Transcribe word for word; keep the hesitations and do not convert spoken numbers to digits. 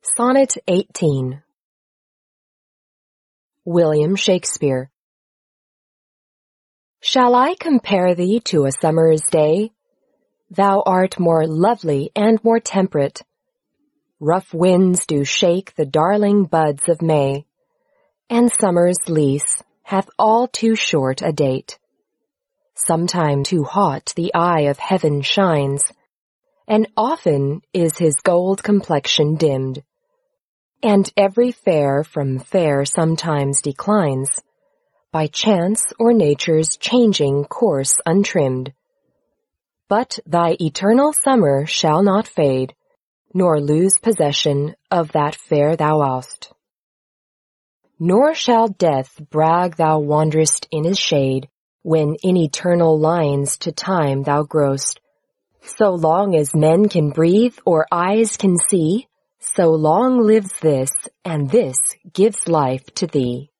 Sonnet eighteen. William Shakespeare. Shall I compare thee to a summer's day? Thou art more lovely and more temperate. Rough winds do shake the darling buds of May, and summer's lease hath all too short a date. Sometime too hot the eye of heaven shines, and often is his gold complexion dimmed. And every fair from fair sometimes declines, by chance or nature's changing course untrimmed. But thy eternal summer shall not fade, nor lose possession of that fair thou wast. Nor shall death brag thou wanderest in his shade, when in eternal lines to time thou growst. So long as men can breathe or eyes can see, so long lives this, and this gives life to thee.